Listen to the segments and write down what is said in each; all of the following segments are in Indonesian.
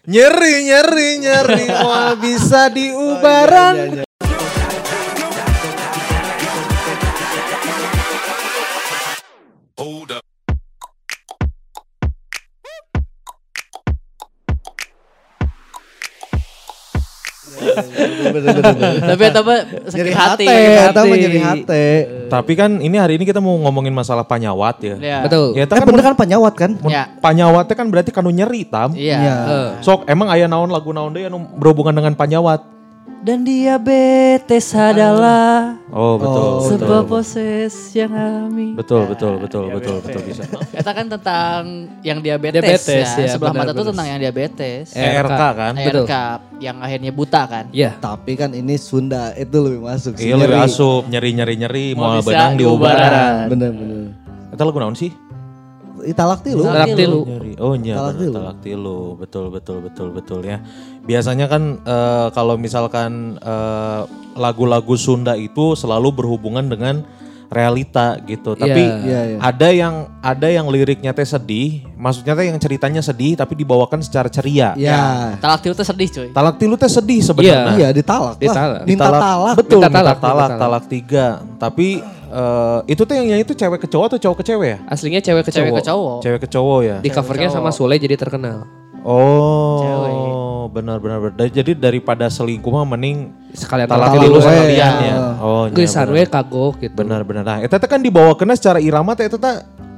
Nyeri, wah bisa diubaran. Tapi sakit hati. Nyeri hati. Tapi kan ini hari ini kita mau ngomongin masalah panyawat ya. Ya. Betul. Ya, Bener kan panyawat kan? Ya. Panyawatnya kan berarti kanu nyeri tam. Iya. Sok emang aya naon lagu naon deui anu berhubungan dengan panyawat. Dan diabetes adalah sebuah proses yang alami. Betul bisa. Eta kan tentang yang diabetes ya. Sebelah mata tuh tentang yang diabetes. ERK kan? ERK yang akhirnya buta kan. Iya. Tapi kan ini Sunda itu lebih masuk. Iya lebih asup, nyeri mau bisa benang diubaran. Bener. Eta lagu naon sih? Talak tilu. Nyeri. Oh iya Talak tilu. Betul ya. Biasanya kan kalau misalkan lagu-lagu Sunda itu selalu berhubungan dengan realita gitu. Tapi ada yang liriknya teh sedih, maksudnya teh yang ceritanya sedih tapi dibawakan secara ceria. Ya. Talak tilu tuh sedih cuy. Talak tilu teh sedih sebenarnya. Iya, ditalak. Minta talak. Betul, minta talak 3. Tapi itu tuh yang nyanyi itu cewek ke cowok atau cowok ke cewek ya? Aslinya cewek ke cowok. Cewek ke cowok ya. Di covernya sama Sule jadi terkenal. Oh, benar. Jadi daripada selingkuh mah mending sekalian talak tilu sekalian ya. Oh, geus we kagok gitu. Benar. Nah, eta teh kan dibawakeun secara irama teh eta teh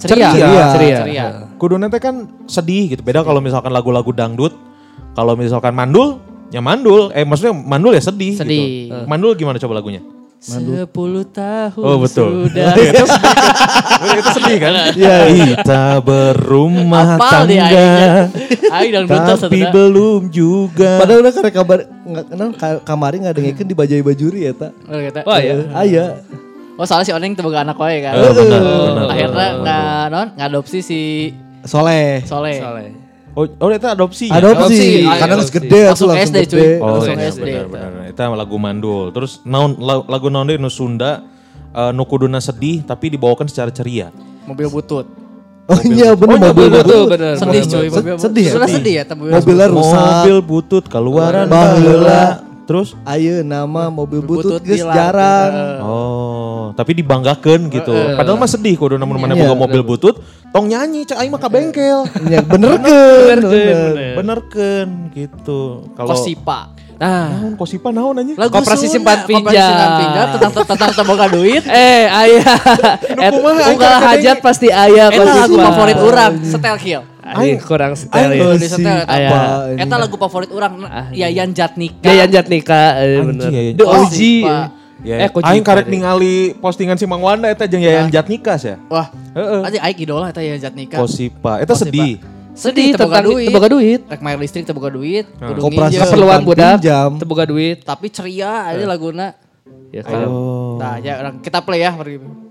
ceria. Kuduna teh kan sedih gitu. Beda kalau misalkan lagu-lagu dangdut, kalau misalkan mandul, ya mandul. Maksudnya mandul ya sedih. Gitu. Mandul gimana coba lagunya? 10 tahun betul. Sudah. Itu sedih kan? Kita berumah tangga. Tapi belum juga. Padahal udah karek kamari ngadengikeun di bajai bajuri eta. Oh iya. Aya. Oh soalnya si Oneng tuh boga anak wae kan. Benar. Akhirnya ngadopsi si Soleh. Oh itu adopsi. Adopsi. Karena harus gede. Langsung SD cuy. Langsung SD. Benar. Itu lagu mandul. Terus lagu naon deui nu Sunda nu kuduna sedih tapi dibawakan secara ceria. Mobil butut. Oh iya bener mobil butut. Sedih cuy. Sedih ya? Sudah sedih ya. Mobilnya rusak. Mobil butut keluaran baheula. Terus? Ayo nama mobil butut geus jarang. Oh, tapi dibanggakeun gitu. Padahal mah sedih kudu namun mana boga mobil butut, tong nyanyi cak aing mah ka bengkel. Ya benerkeun. Benerkeun gitu. Kalau Kosipa. Kosipa naon anjing? Koperasi simpan pinjam. Tentang boga duit. Aya. Unggal hajat pasti aya Eta lagu favorit urang, Setel Kill. Kurang setel ya. Eta lagu favorit urang Yayan Jatnika. Bener. The OG. Aing karek ningali postingan si Mang Wanda eta jeung Yayan Jatnika ya. Wah. Aja aing idola eta Yayan Jatnika. Kosipa. Eta sedih. Tentang teboga duit. Rek bayar listrik teboga duit. Koperasi keperluan budak teboga duit. Tapi ceria aja laguna. Ya kan. Nah, ya kita play ya.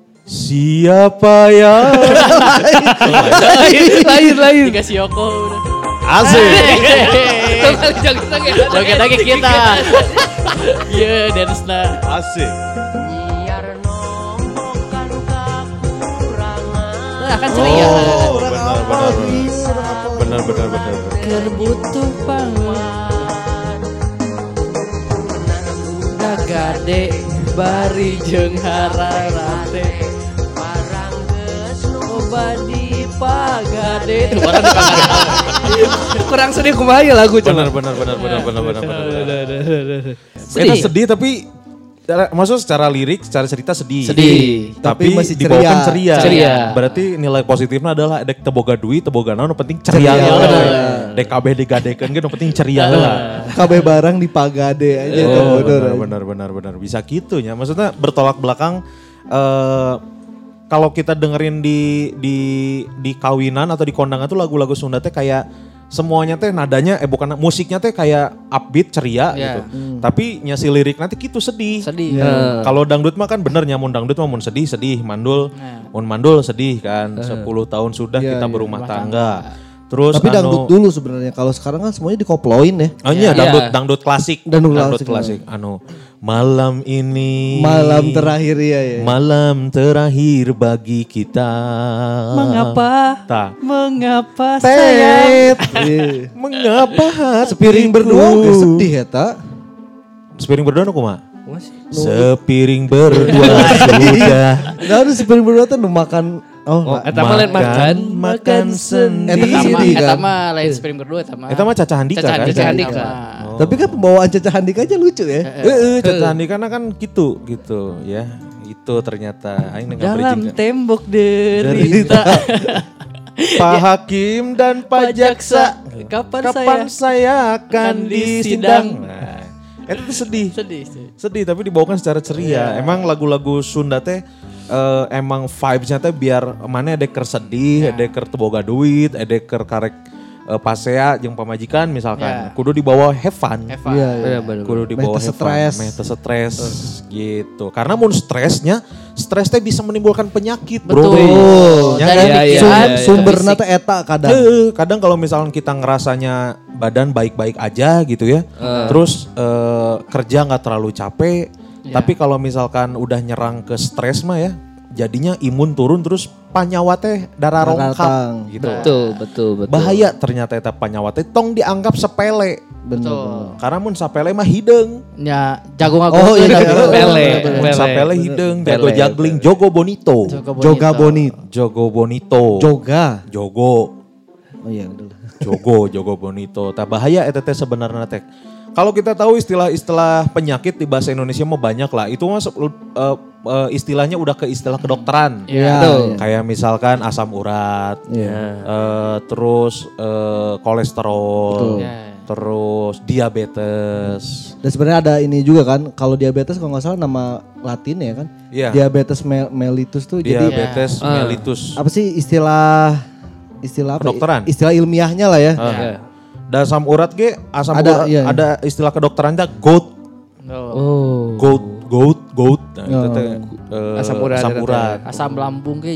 Siapa ya? Lain. Dikasih Yoko udah. Asik. Joget lagi kita. Iya, dance-na. Asik. Akan ceria. Benar. Kerbutuh pangan. Nagade bari jeung hararate. Parang geus loba di pagade. Kurang sedih kumaha ya lagu benar. Itu sedih tapi maksud secara lirik, secara cerita sedih. Tapi masih dibawakan ceria. Berarti nilai positifnya adalah dek teboga duit, teboga naon penting ceria. Dek kabeh digadekeun ge penting ceria lah. Kabeh barang dipagade aja. Benar. Bisa gitu ya. Maksudnya bertolak belakang kalau kita dengerin di kawinan atau di kondangan tuh lagu-lagu Sunda teh kayak semuanya teh nadanya bukan musiknya teh kayak upbeat ceria gitu. Tapi nyasi lirik nanti gitu sedih. Kalau dangdut mah kan bener nyamun dangdut mah mun sedih mandul. Mun mandul sedih kan. 10 tahun sudah kita berumah tangga. Terus Tapi dangdut dulu sebenarnya. Kalau sekarang kan semuanya dikoploin ya. Oh iya, dangdut klasik. Dangdut klasik. Malam ini. Malam terakhir ya. Malam terakhir bagi kita. Mengapa sayang? Mengapa Sepiring berdua oke sedih ya tak? Sepiring berdua aku mah. Sepiring berdua sudah. Nah ada sepiring berdua tuh makan. Eta mah lain makan sendiri. Eta mah lain sepiring berdua eta mah. Eta mah Caca Handika kan? Caca Handika. Tapi kan pembawaan Caca Handika aja lucu ya. Caca Handika kan gitu ya. Itu ternyata aing dalam tembok derita. Pak Hakim dan Pak Jaksa, kapan saya akan disidang? Nah, itu tuh sedih tapi dibawakan secara ceria. Emang lagu-lagu Sunda teh emang vibes-nya teh biar mana edeker sedih, edeker teboga duit, edeker karek pasea jeung pamajikan misalkan. Kudu dibawa have fun. Iya. Kudu dibawa have fun. Stres gitu. Karena mun stres teh bisa menimbulkan penyakit, bro. Betul. Sumberna teh eta kadang. Kadang kalau misalkan kita ngerasanya badan baik-baik aja gitu ya. Terus kerja nggak terlalu capek. Tapi kalau misalkan udah nyerang ke stres mah ya, jadinya imun turun terus panyawa teh darah rongkap gitu. Betul. Bahaya ternyata eta panyawa teh tong dianggap sepele. Betul. Karena mun sapele mah hideung. Ya, jago ngago. Oh iya, Pele. Sapele hideung, jago juggling, jogo bonito. Jogo bonito. Jogo. Oh iya betul. Jogo bonito. Tah bahaya eta teh sebenarnya teh. Kalau kita tahu istilah-istilah penyakit di bahasa Indonesia mah banyak lah. Itu mah istilahnya udah ke istilah kedokteran. Kayak misalkan asam urat, terus kolesterol, terus diabetes. Dan sebenarnya ada ini juga kan, kalau diabetes kalau nggak salah nama Latin ya kan? Iya. Diabetes mellitus tuh diabetes mellitus. Apa sih istilah apa? Kedokteran. Istilah ilmiahnya lah ya. Dan asam urat ada istilah kedokterannya gout. Gout. Nah, itu teh asam urat. Asam lambung ge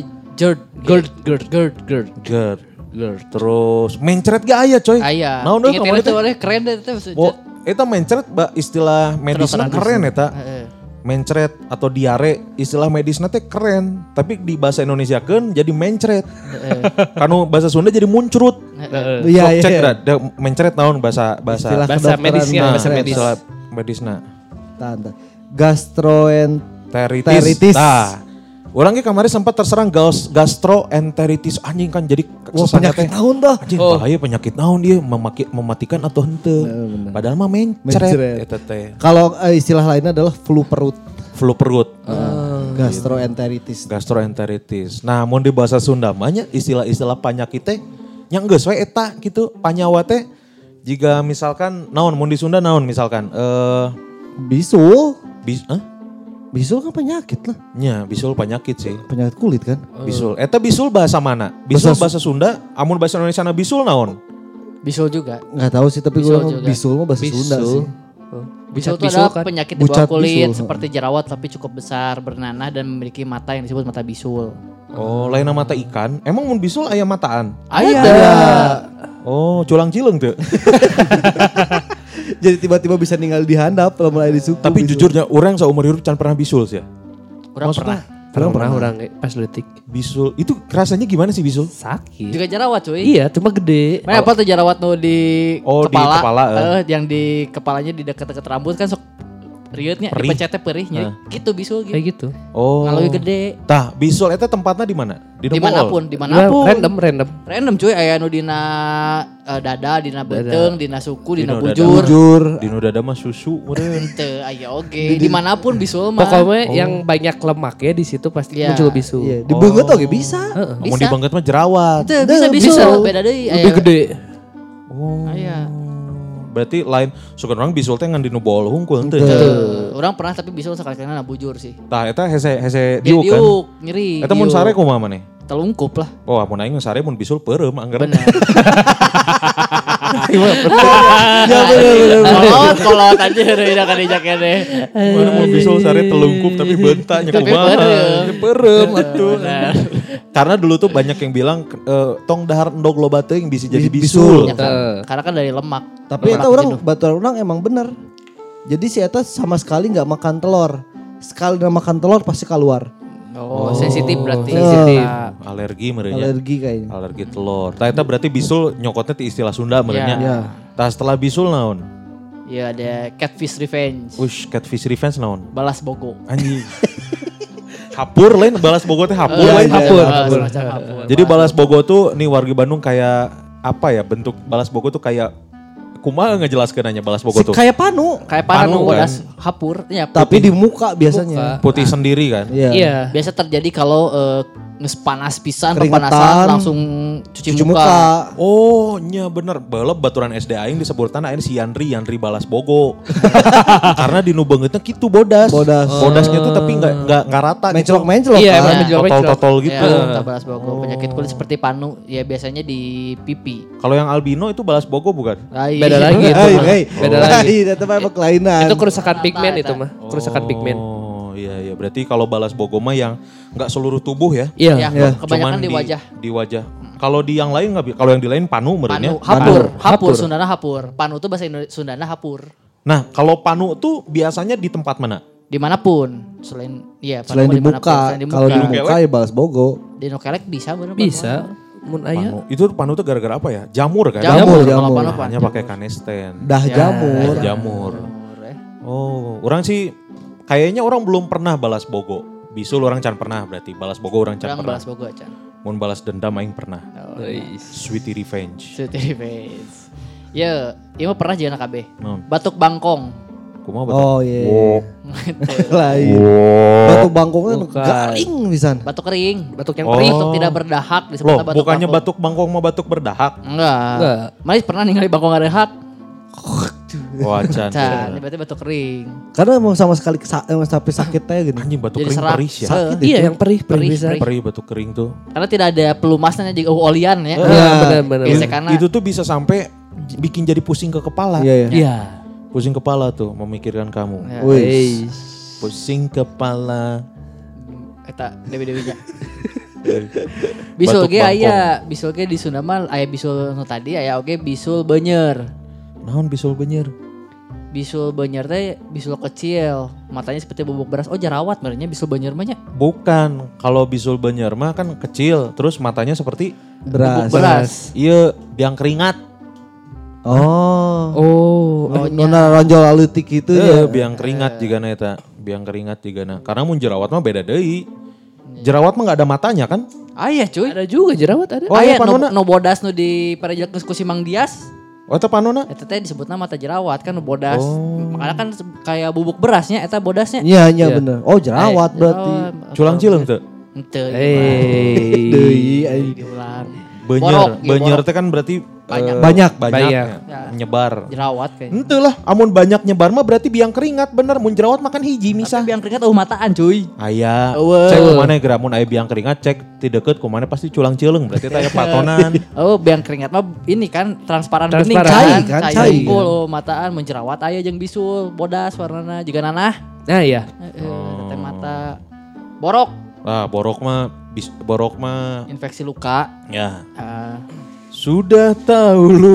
GERD. Terus mencret ge aya coy. Aya. Naon deui kemarin teh keren deh itu. Eta mencret istilah medisnya keren eta. Mencret atau diare istilah medisnya teh keren, tapi di bahasa Indonesia kan jadi mencret. Kanu bahasa Sunda jadi muncrut. Iya. Cek dah mencret naon bahasa medisnya. Medisna. Gastroenteritis. Nah, orang kemarin sempat terserang gastroenteritis anjing kan jadi penyakit naon dah. Anjing bahaya penyakit naon dia mematikan atau henteu. Padahal mah mencret eta teh. Kalau istilah lainnya adalah flu perut. Gastroenteritis. Nah, mun di bahasa Sunda mah istilah-istilah penyakit teh nya geus we eta gitu panyawa teh. Jika misalkan naon mun di Sunda naon misalkan bisul. Bisul kan penyakit lah. Nya, bisul penyakit sih. Penyakit kulit kan? Bisul. Eta bisul bahasa mana? Bisul bahasa Sunda, amun bahasa Indonesia na bisul naon? Bisul juga. Enggak tahu sih tapi gue bisul mah bahasa Sunda sih. Bisul itu adalah penyakit di bawah kulit seperti jerawat tapi cukup besar, bernanah dan memiliki mata yang disebut mata bisul. Oh, lain mata ikan. Emang mun bisul aya mataan? Ada. Oh, culang cileng tuh. Jadi tiba-tiba bisa ninggal di handap kalau mulai di suku. Tapi jujurnya orang seumur hidup can pernah bisul sih. Orang pernah. Orang pas detik. Bisul itu rasanya gimana sih bisul? Sakit. Juga jerawat cuy. Iya, cuma gede. Mana apa tuh jerawat nu di kepala? Di kepala. Yang di kepalanya di dekat-dekat rambut kan sok riutnya dipecetnya perihnya. Gitu bisul gitu. Kayak gitu. Oh. Kalau gede. Tah, bisul eta tempatnya di mana? Dimanapun. Random cuy, aya nu dina dada, dina beuteung, dina suku, dina bujur. Dina dada mah susu meureun. Teu aya oge. Dimanapun bisul mah. Pokoknya yang banyak lemak ya di situ pasti muncul bisul. Iya, di beungeut oge bisa. Mun di beungeut mah jerawat. Teu bisa bisul, beda deui. Lebih gede. Oh. Aya. Berarti lain suka orang bisul teh ngan dinu bol hungkul teu. Orang pernah tapi bisul sekali-kali bujur sih. Tah eta hese diuk kan. Nyeri. Eta mun sare kumaha maneh? Telungkup lah. Oh, mun aing sare mun bisul peureum anggar. Benar. Ya benar. Kolot aja udah kan dijak deh. Mana mun bisul sare telungkup tapi benta nya kumaha. Peureum atuh. Karena dulu tuh banyak yang bilang tong dahar endog loba teuing bisa jadi bisul. Ya kan? Karena kan dari lemak. Tapi eta orang baturan orang emang bener. Jadi si eta sama sekali nggak makan telur. Sekali udah makan telur pasti keluar. Oh, sensitif berarti. Sensitif. Alergi merenya. Alergi kayaknya. Alergi telur. Tah eta berarti bisul nyokotnya ti istilah Sunda merenya. Iya. Tah setelah bisul naon? Ya ada catfish revenge. Ush, catfish revenge naon? Balas bogo. Anjing. Hapur lain balas bogo teh hapur lain. Hapur. Semacam hapur. Jadi balas bogo tuh nih wargi Bandung kayak apa ya, bentuk balas bogo tuh kayak kumaha ngejelaskeun anya balas bogo tuh. Kayak panu. Kayak Panu, panu kan? bodas hapur. Ya, Tapi di muka biasanya. Putih sendiri kan. Iya. Iya. biasa terjadi kalau nges panas pisan, Keringetan. pepanasan langsung cuci muka. Oh, nya bener. Balap baturan SD aing disebutan aing si Yandri balas bogo. Karena di nu beungeutna kitu bodas. Bodasnya tuh tapi enggak rata gitu. Menclok-menclok Iya, kan. emang menjawab Totol-totol gitu. Ya, balas bogo. Penyakit kulit seperti panu, ya biasanya di pipi. Kalau yang albino itu balas bogo bukan? Beda lagi itu. Beda lagi. Itu mah kelainan. Itu kerusakan pigmen itu mah. Kerusakan pigmen. Oh, iya. Berarti kalau balas bogo mah yang enggak seluruh tubuh ya. Iya. Ya, kebanyakan Cuman di wajah. Di wajah. Kalau di yang lain enggak, kalau yang di lain panu merenya. Hapur, Sundana hapur. Panu itu bahasa Sundana hapur. Nah, kalau panu tuh biasanya di tempat mana? Dimanapun, selain di muka. Kalau di muka ya balas bogo. Di nokelek bisa bener. Bisa. Mun aya. Panu. Itu panu tuh gara-gara apa ya? Jamur kan? Jamur. Jamur. Kalau panu, Hanya pakai kanesten. Dah jamur. Jamur. Oh, orang sih kayaknya orang belum pernah balas bogo. Bisul orang can pernah berarti. Balas bogo orang can Orang pernah. balas bogo aja. Mun balas dendam aing pernah. Sweetie revenge. Sweetie revenge. Ya, iya mah pernah jangan KB. Non. Batuk bangkong. Kumaha batuk? Oh iya. Oh. Lain. Batu bangkongnya garing pisan. Batuk kering. Batuk yang Oh. perih. Batuk tidak berdahak Loh, disebutnya batuk bukannya bangkong. batuk bangkong mah batuk berdahak. Enggak. Malis pernah ningali bangkong ngadahak. Wah, can. Can, ini berarti batuk kering. Karena emang sama sekali sampai sakit teh gini. Anjing batuk Jadi kering serak. perih ya. Sakit Iya itu. yang perih bisa. Perih batuk kering tuh. Karena tidak ada pelumasnya juga olian ya. Iya benar-benar. Gesekanna. Itu tuh bisa sampai bikin jadi pusing ke kepala. Iya. Iya. Pusing kepala tuh memikirkan kamu. Ya. Wih. Pusing kepala. Eta dewi-dewinya. Bisul Batuk ge bangkong. aya, bisul ge di Sunda mah aya bisul nu tadi aya oge bisul beunyer. Naon bisul beunyer? Bisul beunyer teh bisul kecil, matanya seperti bubuk beras. Oh jerawat benernya bisul beunyer mah nya. Bukan, kalau bisul beunyer mah kan kecil, terus matanya seperti Beras. Beras. iya biang keringat. Oh. Nona ronjol alutik itu ya. Biang keringat jigana eta, biang keringat jigana. Karena mun jerawat mah beda deui. Jerawat mah enggak ada matanya kan? Aya cuy. Ada juga jerawat ada. Oh, Aya iya, panona. nu bodas nu di parejelek ku si Mang Dias. Oh eta panona? Eta teh disebutna mata jerawat kan nu bodas. Oh. Makanya kan kayak bubuk berasnya eta bodasnya. Iya, bener. Oh, jerawat berarti. Culang cileng teu? Henteu. Deui ai. Diulang. Beunyer, Borok, beunyer borok. teh kan berarti Banyak. banyak Banyak. ya, nyebar. Jerawat kayak. Henteu lah, amun banyak nyebar mah berarti biang keringat bener. Mun jerawat makan hiji misah. Tapi biang keringat mataan cuy. Aya, Eueuh. cek kumana geura mun aya biang keringat cek ti deukeut kumana pasti culang cileung berarti teh aya patonan. Oh, biang keringat mah ini kan transparan bening Transparan. kan. Cai kan, cai. Unggul mataan menjerawat aya jeung bisul, bodas warnana juga nanah. Nah iya. Teh mata borok, Ah, borok mah infeksi luka. ya. Ah, Sudah tahu lu.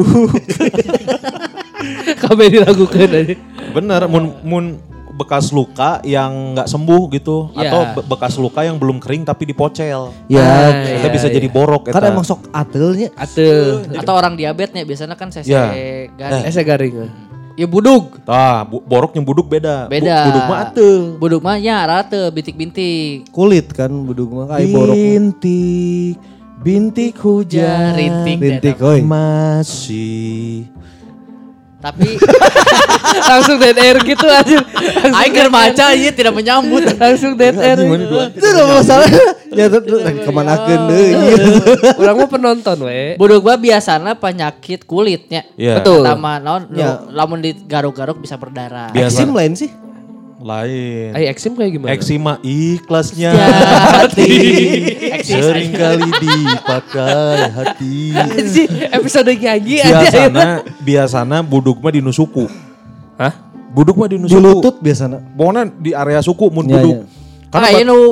Kabeh dilakukan aja. Bener, mun bekas luka yang nggak sembuh gitu Ya. atau bekas luka yang belum kering tapi dipocel. Ya, Kita bisa jadi borok kan eta. emang sok atelnya. Atuh. atau orang diabetesnya biasanya kan sese Ya. garing. Ese garing. Ya budug. Tah, borok yang buduk beda. Beda. Buduk mah ateu. Budug mah nya rata bintik-bintik. Kulit kan buduk mah kayak borok. Bintik hujan. Rintik. Rintik oi. Masih. Tapi Langsung dead air gitu aja. aing keur maca ieu tidak menyambut. Langsung dead air. Itu gak masalah. Ya kemanakeun deui. Urang mah penonton we. Budug mah biasana penyakit kulitnya. Iya. Betul. Pertama naon Ya. lamun digaruk-garuk bisa berdarah. Biasa. Eksim lain sih. Lain. Ai eksim kayak gimana? Eksima ikhlasnya Hati. hati seringkali dipakai hati. Anjing, episode nyanyi aja. Biasana buduk mah di nu suku. Hah? Buduk mah di nu Di suku. lutut biasanya. Pokoknya di area suku mun Iya, buduk. iya. Karena ieu nu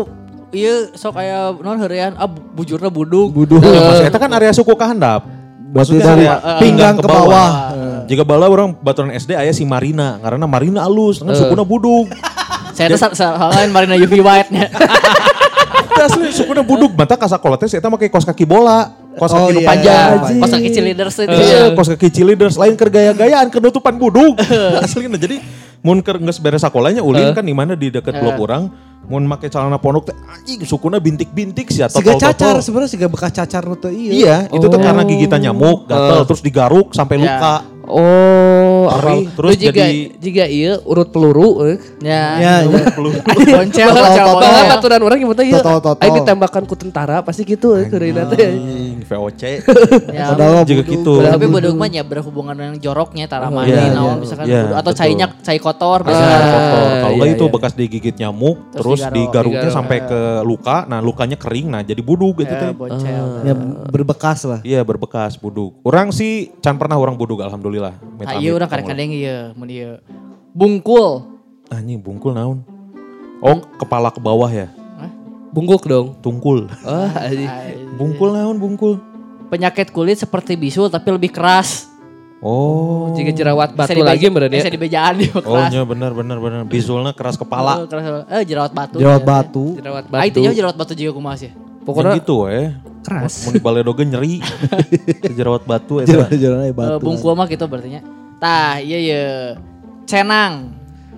iya sok kayak non heurean bujurna budug. Mas eta kan area suku kahandap. Maksudnya dari pinggang ke bawah. Jika bala orang baturan SD aya si Marina, karena Marina alus, kan sukuna budug. Saya tuh lain Marina UV White-nya. Asli sukuna budug, mata kasakola teh saya make kos kaki bola. Kos kaki nu iya. panjang. Kos kaki cheerleaders itu. Iya, kos kaki cheerleaders lain keur gaya-gayaan kenutupan budug. Aslina jadi mun keur geus beres sakolanya ulin kan di mana di deket blok urang mun make celana pondok teh anjing sukuna bintik-bintik sia Siga cacar sebenarnya siga bekas cacar nu teh iya. Iya, itu tuh karena gigitan nyamuk, gatel terus digaruk sampai luka. Oh, Perih, terus jika iya urut peluru. Ya. Boncel. Bahkan baturan orang yang ieu. Totol. Aing ditembakan ku tentara pasti gitu keurina teh. VOC. Ya, padahal juga gitu. tapi budug mah nya berhubungan dengan joroknya tara mandi naon misalkan atau cai kotor Kalau enggak itu bekas digigit nyamuk terus digaruknya sampai ke luka, nah lukanya kering, nah jadi budug gitu teh. Boncel. Ya berbekas lah. Iya berbekas budug. Orang sih can pernah orang budug alhamdulillah. Iya urang kadang-kadang ieu mun ieu. Bungkul. Anjing bungkul naon? Oh kepala ke bawah ya? Bungkuk dong. Tungkul. Bungkul naon bungkul? Penyakit kulit seperti bisul tapi lebih keras. Oh. Jika jerawat batu lagi berarti. Bisa dibejaan dia keras. Oh iya benar. Bisulna keras kepala. Jerawat batu. Jerawat batu. Itu jerawat batu juga kumaha sih. Pokoknya gitu keras. Mun di baledoge nyeri. Jerawat batu eta. Jerawat batu. Bungkul mah gitu berarti nya. Tah, iya. Cenang.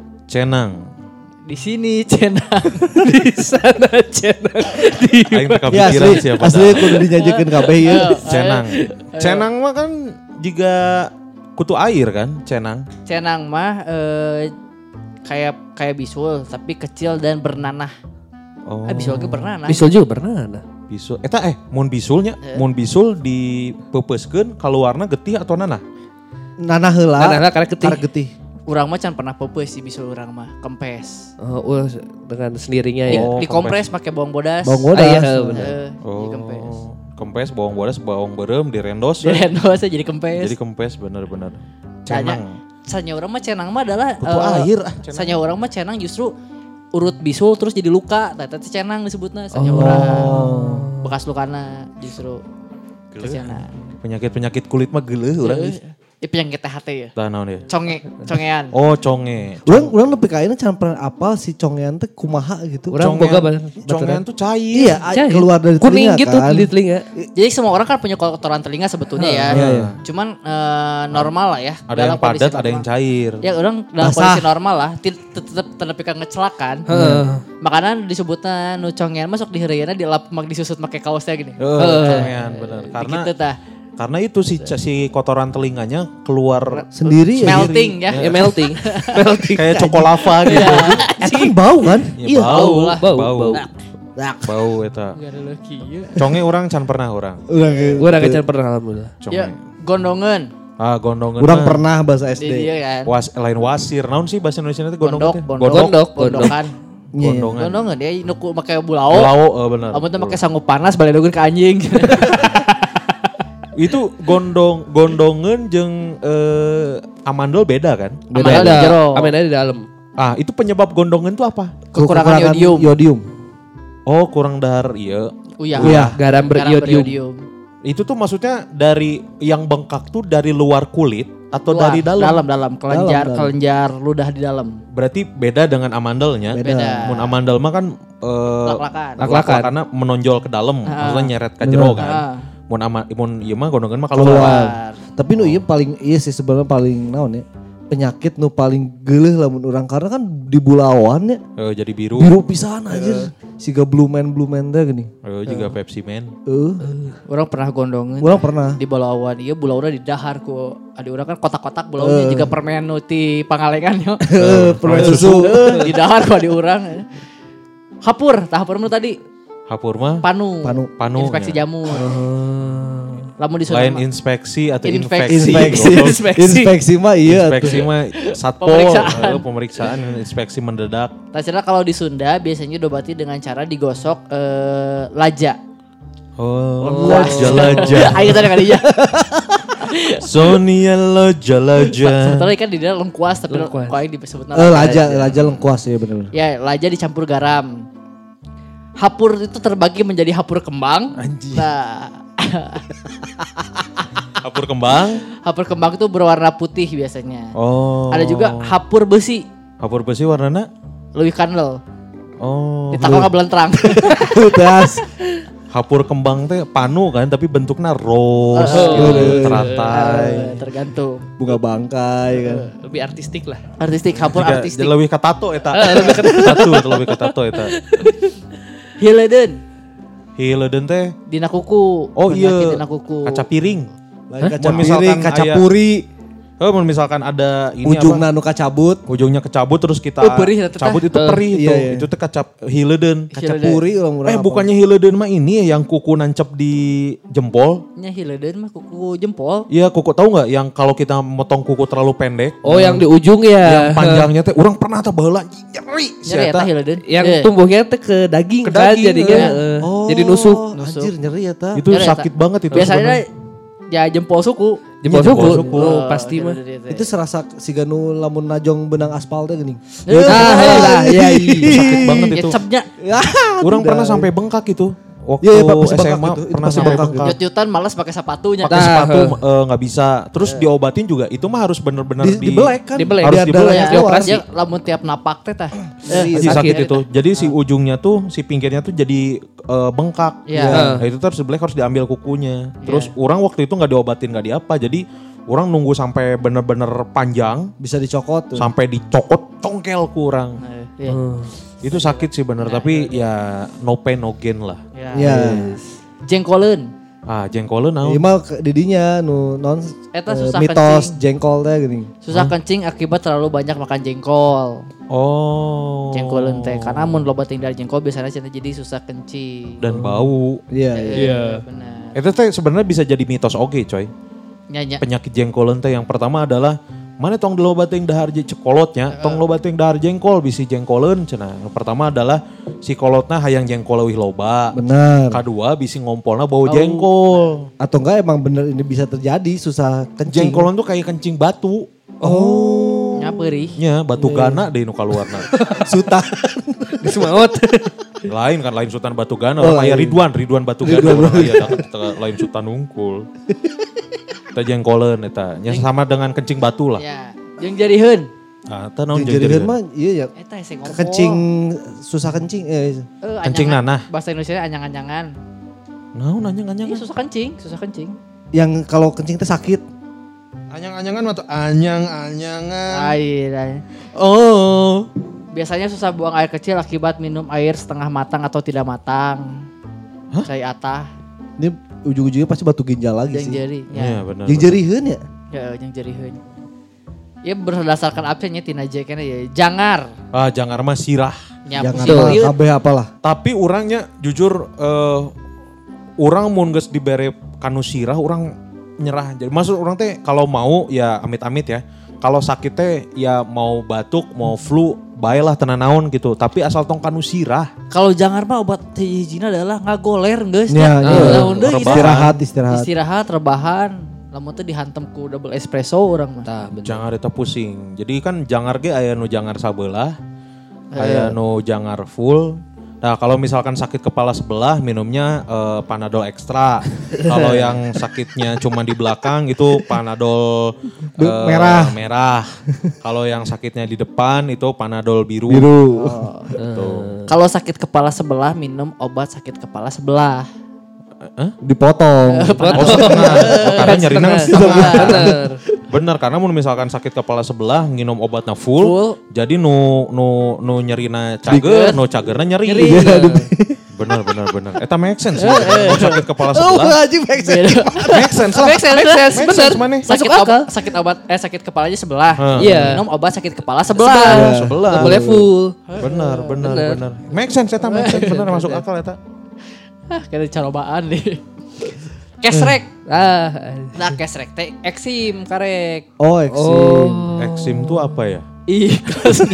Di sini cenang. Di sana cenang. Aing teu kapikiran siapa. Asli kudu dinyajekeun kabeh ieu. Cenang mah kan juga kutu air kan, cenang. Cenang mah kayak bisul tapi kecil dan bernanah. Oh. Bisul ge bernanah. Bisul juga bernanah. Bisul. Eta mun bisulnya, mun bisul dipepeuskeun kaluarna getih atau nanah? Nanah heula. Nanah karena getih. Urang mah can pernah pepeus sih bisul urang mah, kempes. Dengan sendirinya ya. Dikompres pakai bawang bodas. Bawang bodas. Iya benar. Dikempes. Kempes, bawang bodas, bawang berem, direndos. Direndos jadi kempes. Jadi kempes benar-benar. Cenang. Sanya urang mah cenang mah adalah kutu air Sanya urang mah cenang justru urut bisul terus jadi luka. Tata cenang disebutna sanya urang. Bekas lukana justru cenang. Penyakit kulit mah geuleuh urang. Penyakit THT ya. Tah naon ya? Congean. Oh, conge. Urang nepi ka ayeuna can pernah apal si congean teh kumaha gitu. Urang boga congean tuh cair. Iya, keluar dari kuning telinga gitu kan. di telinga. Jadi semua orang kan punya kotoran telinga sebetulnya ya. Cuman normal lah ya. Ada yang padat, ada yang cair. Ya orang dalam kondisi normal lah. Tetap tenepi ka ngecelakan. Makanya disebutnya nu congean masuk di heureuyna disusut make kaosnya gini. Congean benar. Karena itu si kotoran telinganya keluar sendiri melting ya. Melting. Kayak cokolava gitu. Itu kan bau kan? Iya, bau. Dak. Bau eta. Conge orang can pernah orang. Urang can pernah alhamdulillah. Ya, gondongan. Gondongan. Urang pernah bahasa SD. Iya kan. Lain wasir. Naon sih bahasa Indonesia itu gondongan? Gondokan. Gondongan dia nuku make bulao. Bulao, benar. Amun teh make sangu panas baledogeun ka anjing. Itu gondongan jeung amandel beda kan? Beda. Amandel di dalam. Itu penyebab gondongan itu apa? Kekurangan yodium. Oh, kurang dahar iya. Iya. Garam beriodium. Itu tuh maksudnya dari yang bengkak tuh dari luar kulit atau dari dalam? Dalam. Kelenjar ludah di dalam. Berarti beda dengan amandelnya. Beda. Mun amandel mah kan lak-lakan karena menonjol ke dalam, maksudnya nyeret ke jero kan. Mun ieu mah gondongan mah keluar. Tapi nu ieu paling sih sebenarnya paling naon ya? Penyakit nu paling geuleuh lamun urang karena kan di bulawan ya. Jadi biru. Biru pisan anjir. Siga blue man teh gini. Juga Pepsi Man. Urang pernah gondongan. Urang pernah. Di bulawan ieu bulauna di dahar ku adi urang kan kotak-kotak bulauna juga permen nu ti Pangalengan yo. Permen susu. Di dahar ku adi urang. Hapur mah tadi. Hapur mah? Panu. Inspeksi jamur. Lamun disuruh lain inspeksi atau infeksi. Inspeksi mah iya. Inspeksi mah satpol. Pemeriksaan inspeksi mendadak. Tacana kalau di Sunda biasanya diobati dengan cara digosok laja. Oh, laja. Ayo tadi kali ya. Sonia laja. Setelah kan di dalam lengkuas tapi kok yang disebut laja lengkuas ya benar. Ya, laja dicampur garam. Hapur itu terbagi menjadi hapur kembang. Anjing. Nah, Hapur kembang. hapur kembang itu berwarna putih biasanya. Oh. Ada juga hapur besi, Hapur besi warnanya. leuwih kandel. Oh. Ditakal ngabelentrang. Tas. Hapur kembang teh panu kan tapi bentuknya rose gitu, teratai. Tergantung. Bunga bangkai kan. Lebih artistik lah. Artistik, hapur Jika artistik. lebih ke tato eta. Lebih ke tato eta. Hileuden Hileuden teh. dina kuku. Oh Penyakit iya. dina kuku. Kaca piring. Lain kaca Mun misalkan piring, kaca aya- puri, Kalau misalkan ada ini ujungna apa? nu kacabut, Ujungnya kecabut terus kita Perih eta teh. cabut itu perih itu. iya, iya. Itu teh kaca hileuden. kaca puri orang Bukannya hileuden mah ini ya yang kuku nancep di jempol. Nya hileuden mah kuku jempol. Iya kuku tahu nggak yang kalau kita motong kuku terlalu pendek. Oh yang di ujung ya. Yang panjangnya teh orang pernah teh baheula nyeri. Si Nyeri eta eta. hileuden. Yang Eh, tumbuhnya teh ke daging Ke kan daging, jadinya. ya. Jadi nusuk. Anjir nyeri ya ta. Itu nyeri eta. sakit banget itu. Biasanya sebenarnya. ya jempol suku. Jempol Iya, jempol suku. suku. Oh, pasti mah. Itu serasa si Ganu lamun najong benang aspal teh geuning. Lah, iya Sakit banget itu. Cepnya. Orang pernah sampai bengkak itu. Waktu Iya, iya, Pak, pasti bengkak SMA itu. Itu pernah pasti sampai bengkak bengkak. Jut-jutan malas pakai sepatunya. Pakai sepatu nggak bisa. Terus diobatin juga. Itu mah harus bener-bener Dibelek kan. Dibelek. Harus Biar dibelek. darahnya Ya, keluar. Dioperasi. dia lamun tiap napak teh tah. Sakit, sakit itu. Jadi si ujungnya tuh, si pinggirnya tuh jadi bengkak. Iya. Nah, itu terus dibelek harus diambil kukunya. Terus orang waktu itu nggak diobatin nggak diapa. Jadi orang nunggu sampai bener-bener panjang. Bisa dicokot tuh. Sampai dicokot congkel kurang. Iya. Itu sakit sih bener. Tapi ya no pain no gain lah. Ya. Jengkoleun. Ah jengkolen Ieu naon. mah didinya nu non Eta susah mitos kencing. jengkol teh geuning. Susah kencing akibat terlalu banyak makan jengkol. Oh. Jengkoleun teh karena mun loba tinggal jengkol biasanya cenah jadi susah kencing. Dan bau. Iya. Iya, benar. Itu teh sebenarnya bisa jadi mitos oge coy. Nyanya. Penyakit jengkolen teh yang pertama adalah mana tong dilobating dahar cekolotnya, tong lobating dahar jengkol bisi jengkolen cenah. Yang pertama adalah si kolotna hayang jengkol leuwih loba. Benar. Kedua bisi ngompolna bau jengkol. Atau enggak emang bener ini bisa terjadi susah kencing. Jengkolen tuh kayak kencing batu. Nya perih. Nya batu gana deh nu kaluarna. Sutan. Semaut. Lain kan lain Sultan Batu Gana, Oh, aya lain. Ridwan Batu Gana urang aya lain Sultan Unggul. Eta jengkolen eta, nya sama dengan kencing batu lah. Ya, jeung jariheun. Ah, eta naon Jadikan mah iya ya. Eta hese ngompol. Kencing susah kencing kencing anyangan. nanah. Bahasa Indonesia anyang-anyangan. Naon anyang-anyangan? Iya susah kencing. yang kalau kencing teh sakit. Anyang-anyangan atau anyang-anyangan? Air. Oh. Biasanya susah buang air kecil akibat minum air setengah matang atau tidak matang. Cai atah, Ini ujung-ujungnya pasti batu ginjal lagi jeung sih. jari. Iya Ya, benar. Jeung jeriheun ya. ya jeung jariheun. Ya berdasarkan apa nya tina J kana ya. Jangar. Ah, jangan mah sirah. Nya Jangan pusing mah liut. kabeh apalah. Tapi orangnya jujur orang mun geus dibere kanu sirah orang nyerah. Jadi maksud orang teh kalau mau ya amit-amit ya. Kalau sakit teh ya mau batuk, mau flu, baiklah tenan naon gitu. Tapi asal tong kanu sirah. Kalau jangar mah obat hijina adalah ngagoler geus Ya, nya. iya. Lamun deui Rebahan. Istirahat. istirahat rebahan. Lamun teh dihantem ku double espresso urang mah. Tah, bener. Jangar eta pusing. Jadi kan jangar ge aya nu jangar sabelah, aya nu jangar full. Nah kalau misalkan sakit kepala sebelah minumnya Panadol ekstra. Kalau yang sakitnya cuma di belakang itu Panadol merah. Kalau yang sakitnya di depan itu Panadol biru. Gitu. Kalau sakit kepala sebelah minum obat sakit kepala sebelah. Dipotong. Oh setengah. Oh, karena nyerina kan setengah. Bener. Bener karena mun misalkan sakit kepala sebelah nginum obatnya full, Full. jadi nu nyerina cager, nu cagerna nyeri. Bener. Eta make sense. Mun sakit kepala sebelah. Make sense lah. Make sense, bener. Mana? Sakit kepalanya sebelah. Iya. Minum obat sakit kepala sebelah. Sebelah. Nggak boleh full. Bener. Make sense eta, make sense. Bener masuk akal eta. Kayak carobaan nih. Kesrek. Nah, Kesrek teh eksim karek. Oh, eksim. Eksim tuh apa ya? Ikhlas.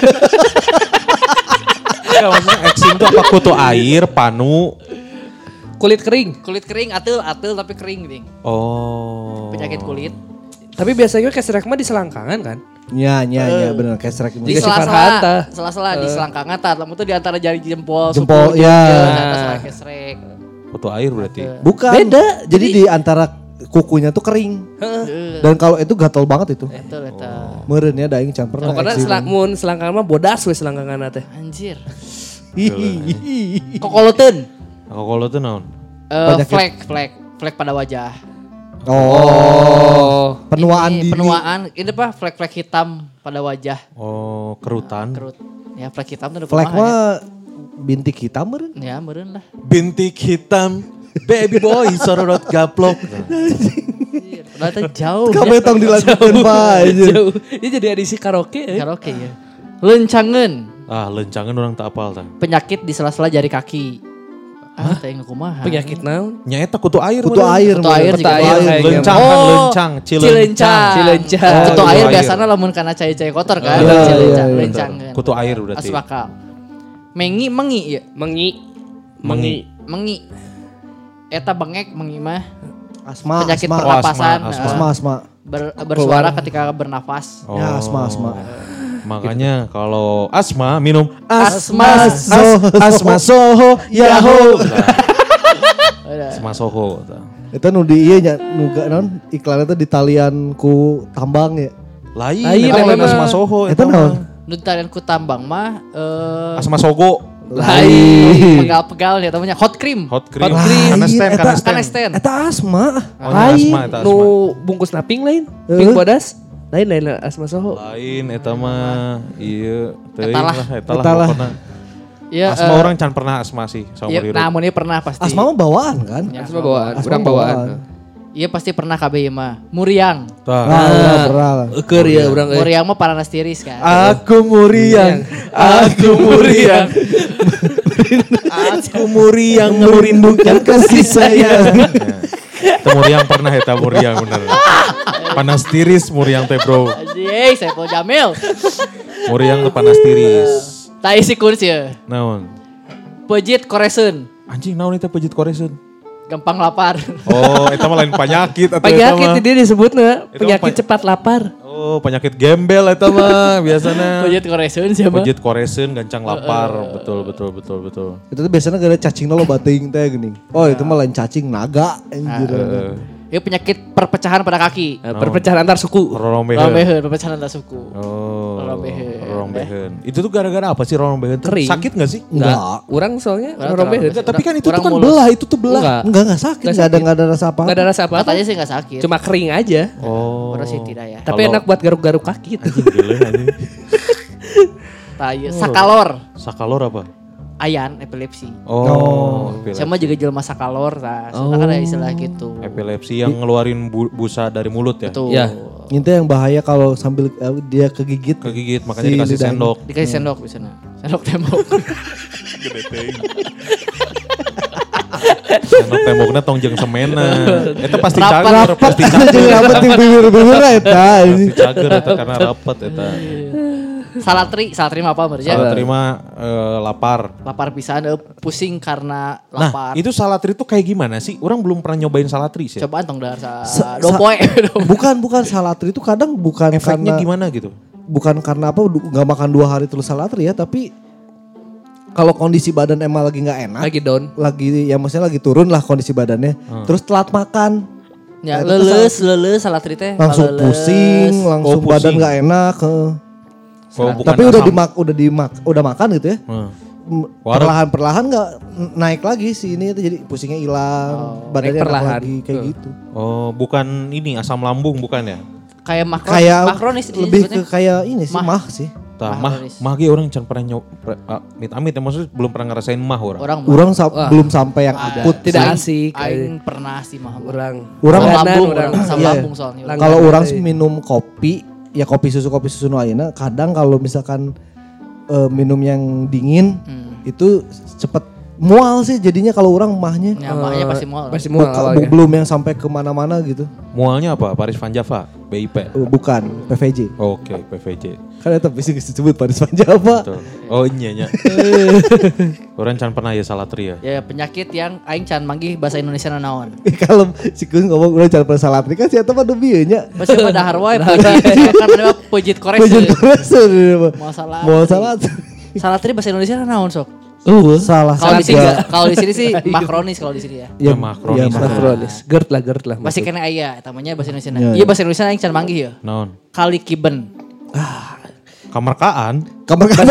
Enggak maksudnya eksim tuh apa kutu air, panu. kulit kering. Kulit kering atul tapi kering ding. Oh. Penyakit kulit. Tapi biasanya kesrek mah di selangkangan kan? Nya bener kesrek Di Jika si sela-sela, Farhanta. sela-sela di selangkangan tah, lamun tuh di antara jari jempol, Jempol, suku, ya. Eta salah kesrek. Foto air berarti. Bukan. Beda. Jadi di antara kukunya tuh kering. Dan kalau itu gatel banget itu. Eta. Meureun ya da aing can pernah. Pokoknya ekstrim. selangkangan mah bodas we selangkangan teh. Anjir. Hihihi. Kokoloteun. Kalau tuh naon? Flek pada wajah. Oh. Penuaan Ini diri. Penuaan, ini apa? Flek hitam pada wajah. Oh, kerutan. Kerut. Ya flek hitam tuh udah Flek kumaha mah bintik hitam meureun. ya. Ya meureun lah. Bintik hitam, baby boy, sorot gaplok. Anjir, padahal teh jauh. Kamu tong dilanjutkeun Pak. Jauh. Ini jadi edisi karaoke ya. Karaoke ya. Lencangeun. Lencangan orang tak apal tah. Penyakit di sela-sela jari kaki. Teh kumaha? Penyakit naon? Nyaeta kutu air. Kutu air. Kutu air Kutu juga. air kayaknya. Lencang kan Oh, lencang, cilencang. Cilencang. Kutu Oh, air kutu biasanya lamun kana cai-cai kotor kan. Iya, Cilencang, iya, iya. lencangeun. Kutu air berarti. Asup akal. Mengi ya. Mengi. Eta bengek mengi mah Asma. penyakit asma. pernapasan. Asma. Bersuara ketika bernafas. Oh. Ya asma. Makanya kalau asma minum Asma. asma soho yaho. Udah. Asma soho. Itu nu di ieu nya nu naon iklan itu di talian ku tambang ya. Lain, Lain, eta lain emang. asma soho. Eta naon? Nu tarian ku tambang mah Asma sogo. Lain. pegal-pegal ya namanya hot cream. Hot cream. Hot cream. Kanesten, Eta- kanesten. Kanesten. Eta asma. Oh, ini asma, eta asma. Nu bungkus naping lain. Pink bodas. Lain asma soho. Lain eta mah ieu teuing Eta lah. lah eta lah Eta lah. pokona. Ya, Asma orang can pernah asma sih sama Iya, Riru. nah mun ieu pernah pasti. Asma mah bawaan kan? Ya, Asma bawaan, Asma urang bawaan. Iya pasti pernah KB ieu mah. Muriang. Tah. Pernah. Keur ya urang euy. Muriang mah paranas tiris kan. Aku muriang, aku muriang. Aku muriang merindukan kasih sayang. Itu muriang pernah eta muriang bener. Panas tiris muriang teh bro. Anjing, Saiful Jamil. Muriang teh panas tiris. Tak isi kuns ya. Naon? Pejit koresun. Anjing naon itu pejit koresun? Gampang lapar. Oh, itu mah lain penyakit atau Penyakit eta mah. dia disebutnya Itu penyakit apa? cepat lapar. Oh, penyakit gembel eta mah biasana. Pejit koresun siapa? Pejit koresun gancang lapar. Betul. Itu tuh biasanya gak ada cacing lo bating teh geuning. Oh itu mah lain cacing naga anjir. Ini penyakit perpecahan pada kaki. Perpecahan antar suku. Rorombeheun. Rombeheun, perpecahan antar suku. Oh, Rorombeheun. rorombeheun. Itu tuh gara-gara apa sih rorombeheun? Kering. Sakit gak sih? Enggak. Urang soalnya Urang rorombeheun. terlalu- Tapi kan itu tuh Orang kan mulus. belah, itu tuh belah. Enggak. Enggak sakit, enggak ada rasa apa. Enggak ada rasa apa-apa. Katanya sih gak sakit. Cuma kering aja. Oh. Orang sih tidak ya. Tapi Kalau- enak buat garuk-garuk kaki itu. Gile anjing. Sakalor. Sakalor apa? Ayan, epilepsi. Oh. Sama juga jelema sakalor. Nah, sebenarnya kan ada istilah gitu. Epilepsi yang ngeluarin busa dari mulut ya? Betul. Ya. Itu yang bahaya kalau sambil dia kegigit. Kegigit, makanya Si dikasih lidahnya. sendok. Dikasih sendok di sana. Sendok tembok. Sendok temboknya tong jeung semena. Itu pasti Rapat. cager, pasti cager. Jadi apa tim bibir-bibir eta. Pasti cager eta karena rapat eta. Salatri mah apa berarti? Salah terima lapar. Lapar pisan, pusing karena Nah, lapar. itu salatri tuh kayak gimana sih? Orang belum pernah nyobain salatri sih. Cobaan tong dasar Sa- dopoe. Bukan salatri itu kadang bukan Efeknya karena gimana gitu? bukan karena apa nggak makan 2 hari terus salatri ya, tapi kalau kondisi badan emang lagi nggak enak, Lagi down. ya maksudnya lagi turun lah kondisi badannya, terus telat makan, Ya Nah, itu leles salatri teh. langsung leles. pusing, langsung Oh, badan pusing. nggak enak. Oh, bukan Tapi udah asam. udah makan gitu ya. Warung. Perlahan nggak naik lagi sih ini itu, jadi pusingnya hilang, badannya naik enak perlahan. lagi kayak gitu. Oh, bukan ini asam lambung bukan ya? Kayak makronis lebih ke kayak ini sih, mah sih. Tah, Makronis. mah ge orang can pernah amit-amit ya maksudnya belum pernah ngerasain mah orang. orang Orang belum sampai yang akut. Tidak sih. asik. aing pernah sih mah. Orang. Orang Asam Langganan, lambung, orang. asam Iya. lambung soalnya. Langganan. Kalau orang Langganan. minum kopi, ya kopi susu nu ayeuna kadang kalau misalkan minum yang dingin itu cepet mual sih jadinya kalau orang mahnya. Ya, makanya pasti mau. Pasti mual awalnya. Belum yang sampai kemana-mana gitu. Mualnya apa? Paris Van Java, BIP. Bukan, PVJ. Oke, PVJ. Kan eta bisa disebut Paris Van Java. Betul. Oh iya nya. Orang can pernah ya salatri ya. Ya penyakit yang aing can manggih bahasa Indonesia naon. Kalau si Kun ngomong udah cara salatri kan si eta mah demi nya. Pasti pada harwai pujit karena pujit korek. Pujit koreser. Mau salah. Mau salat. Salatri bahasa Indonesia naon sok? Salah. Kalau di sini sih makronis kalau di sini ya. Ya makronis. Makronis. Gerd lah. Masih kena aya namanya bahasa Indonesia. Ya, Iya bahasa Indonesia aing can manggih ya. Naon? Kali kiben. Kamarkaan. Kamar kaan.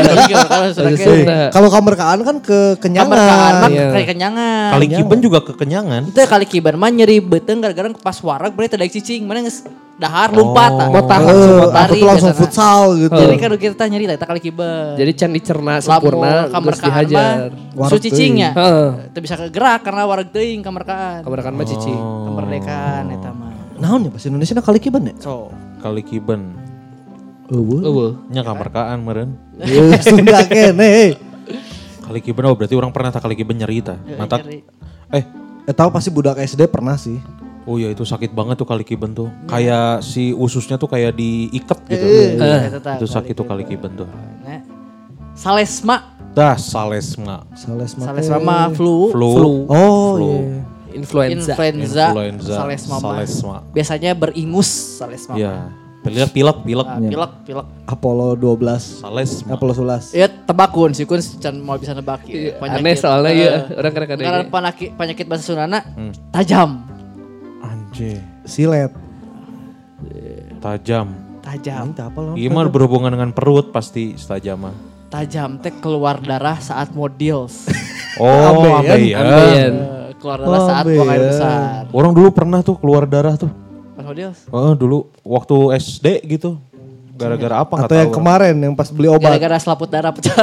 Sunda. Kalau kamar kaan kan kekenyangan. Kamarkaan mah Iya. kayak kenyangan. Kali kiben juga kekenyangan. Itu kali kiben mah nyeri beuteung gara-gara pas wareg berarti tadi cicing mana geus dahar lompat. Mau tahan Aku lari, tuh langsung biasana. futsal gitu. Jadi kan kita nyeri eta kali kiben. Jadi can dicerna sempurna kamar terus dihajar. Su cicingnya. Heeh. Teu bisa kegerak karena wareg teuing kamarkaan. Kamarkan mah cici. Kemerdekaan eta mah. Naon ya bahasa Indonesia kali kiban ya? So, Kali kiben. Eueuh. Nya kamarkaan meureun. Sunda kene. Kali kiben oh berarti orang pernah tak kali kiben nyeri ta. Mantap. nyeri. Tahu pasti budak SD pernah sih. Oh ya itu sakit banget tuh kali kiben tuh. Kayak si ususnya tuh kayak diikat gitu. Eta tah, Itu sakit tuh kali kiben tuh. Nah, Salesma. Dah salesma. Salesma mah flu. Flu. Oh Flu. iya. Influenza. Influenza. Salesma mah. Salesma. Biasanya beringus salesma. Iya. Pilek. Pilek. Apollo 12. Salesma. Apollo 11. Ya tebakun sih kun can mau bisa nebak ya. Aneh soalnya ya orang kadang-kadang. Karena penyakit bahasa Sundana tajam. Anjir. Silet. Tajam. Tajam. Itu apa lo? Gimana berhubungan dengan perut pasti tajam mah. Tajam teh keluar darah saat mau deals. Oh, Ambeien. ambeien. Keluar darah saat buang air besar. Orang dulu pernah tuh keluar darah tuh. Pas mau deals. Oh, dulu waktu SD gitu. Gara-gara apa nggak Atau yang tahu. kemarin yang pas beli obat. Gara-gara selaput darah pecah.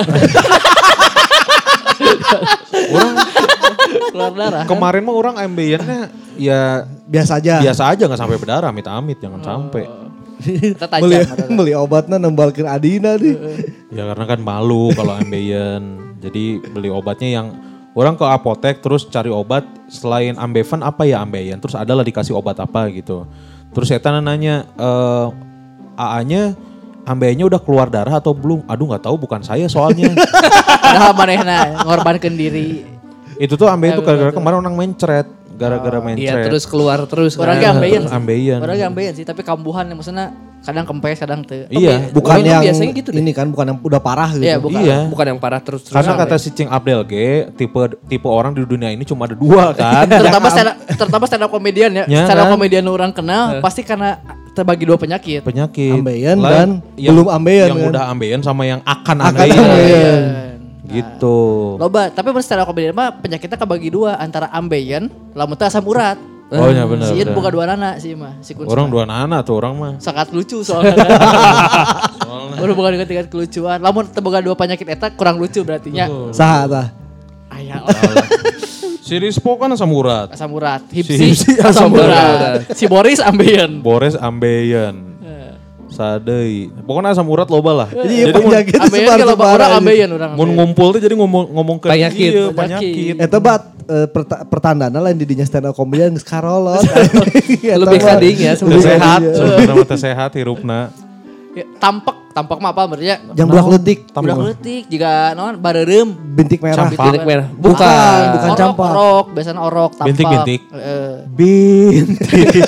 keluar darah. Kemarin mah orang ambeiennya ya Biasa aja. biasa aja nggak sampai berdarah, amit-amit jangan sampai. Kita tajam. beli, darah. beli obatnya nembalkin Adina nih. Ya karena kan malu kalau ambeien. Jadi beli obatnya yang orang ke apotek terus cari obat selain Ambevan apa ya ambeien. Terus adalah dikasih obat apa gitu. Terus saya nanya AA-nya ambeiennya udah keluar darah atau belum? Aduh nggak tahu bukan saya soalnya. Padahal manehna ngorbankeun diri. Itu tuh ambeien tuh gara-gara kemarin orang mencret. Gara-gara Iya mencret. terus keluar terus. Orang kan. ge ambeien. Ambeien. Orang ge ambeien sih, tapi kambuhan yang maksudnya kadang kempes, kadang teu. Iya. Bukan Orang yang biasanya gitu deh. ini kan, bukan yang udah parah gitu. Iya, bukan. Iya. Bukan yang parah terus. Karena kata si Cing Abdel G, tipe orang di dunia ini cuma ada dua kan. terutama stand up komedian ya. Ya, Stand up kan? komedian orang kenal pasti karena terbagi dua penyakit. Penyakit. Ambeien Lain dan belum ambeien Yang kan. udah ambeien sama yang akan Akan ambeien. ambeien. Gitu. Loba, tapi mun stand up komedian mah penyakitnya kebagi dua antara ambeien, lamun teu asam urat. Oh iya benar. Si Ian benar. buka dua nana sih mah, si Kun. Orang dua anak tuh orang mah. sangat lucu soalnya. Baru bukan dengan tingkat kelucuan. Lamun teu boga dua penyakit eta kurang lucu berarti nya. Saha tah. Aya Si Rispo kan asam urat. asam urat, Si Hipsi Hipsi asam asam urat. Si Boris ambeien. Boris ambeien. Sadei. Pokoknya asam urat loba lah. Jadi mun- penyakit Ambeien kalau sebar-sebar orang aja. ambeien orang. mun ngumpul tuh jadi ngomong ke Penyakit. iya, penyakit. Eta bat pertandana lain di dinya stand up comedian geus karolot. Lebih kading ya Udah sehat, Iya. sebenarnya mah teh sehat hirupna. Ya, tampak mah apa berarti ya? Jam budak leutik. Budak leutik jika naon bareureum. Bintik merah. Bintik merah. Bukan, bukan Orok, campak. orok, biasanya orok, tampak. Bintik-bintik. Heeh. Bintik.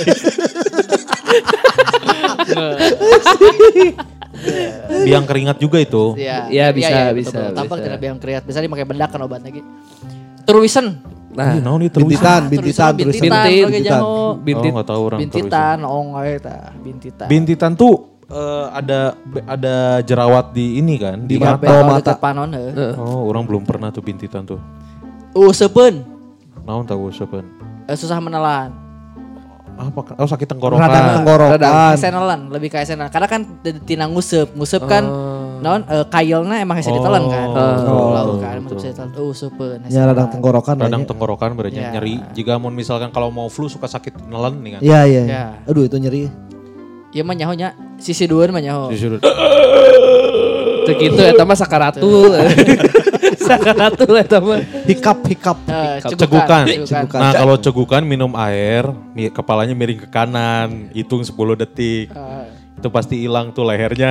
Biang keringat juga itu. Iya, Iya, bisa, betul, bisa, betul. Tampak bisa. tidak biang keringat. Biasanya dipakai bedak kan obat lagi. Truisen. Nah, Ih, naon itu terus. Bintitan, bintitan, terus bintitan, bintit, oke bintitan. jaho. bintit. Oh, enggak tahu orang Bintitan, ong eta, bintitan. Bintitan tuh ada jerawat di ini kan, di Tiga mata. betal mata. dekat panon heuh. Oh, orang belum pernah tuh bintitan tuh. Useupeun, Naon tahu sepen. susah menelan. Apa? Oh, sakit tenggorokan. Radang tenggorokan. Esenelan, lebih ke esenelan. Karena kan tina nguseup kan naon kailna emang hese ditelan kan. Lauk kan masuk bisa ditelan. Useupeun. Ya radang tenggorokan. Radang aja. tenggorokan berarti Ya. nyeri. Jika mau misalkan kalau mau flu suka sakit nelen nih kan. Iya, iya. Ya. Aduh itu nyeri. Ieu mah nyaho nya sisi dhuwur mah nyaho. Disuruh. Teu kitu eta mah sakaratul. Salah satu lah teman. Hikap. Cegukan. Cegukan. Nah kalau cegukan minum air, kepalanya miring ke kanan, hitung 10 detik. Itu pasti hilang tuh lehernya.